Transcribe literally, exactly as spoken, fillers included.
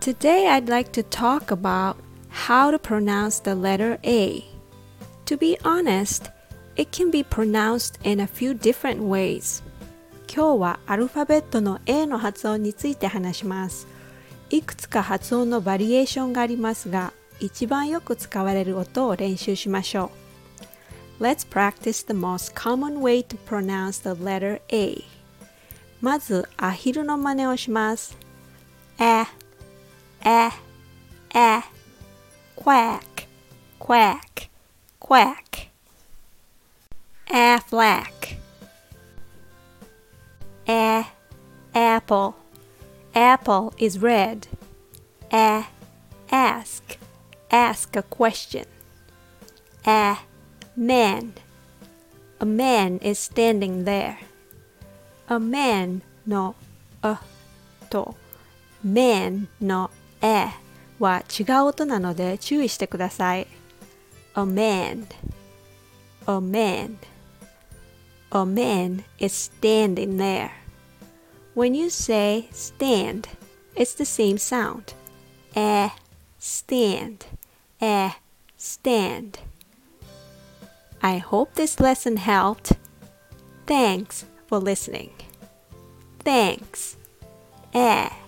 Today I'd like to talk about how to pronounce the letter A. To be honest, it can be pronounced in a few different ways. 今日はアルファベットの A の発音について話します。いくつか発音のバリエーションがありますが、一番よく使われる音を練習しましょう。Let's practice the most common way to pronounce the letter A. まず、アヒルの真似をします。え、え、え、quack, quack, quack. Aflac, a, apple, apple is red. A, ask, ask a question. A, man, a man is standing there. A man の a と man の a は違う音なので注意してください。A man, a man, a man is standing there. When you say stand, it's the same sound. A, stand, a, stand. I hope this lesson helped. Thanks for listening. Thanks. A